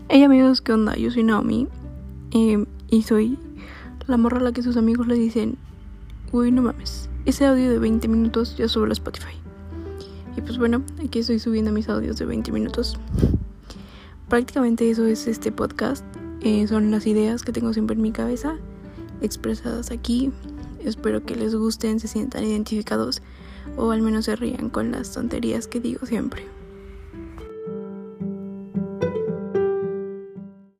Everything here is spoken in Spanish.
Hey amigos, ¿qué onda? Yo soy Naomi y soy la morra a la que sus amigos le dicen: uy, no mames, ese audio de 20 minutos ya subo a Spotify. Y pues bueno, aquí estoy subiendo mis audios de 20 minutos. Prácticamente eso es este podcast. Son las ideas que tengo siempre en mi cabeza expresadas aquí. Espero que les gusten, se sientan identificados o al menos se rían con las tonterías que digo siempre.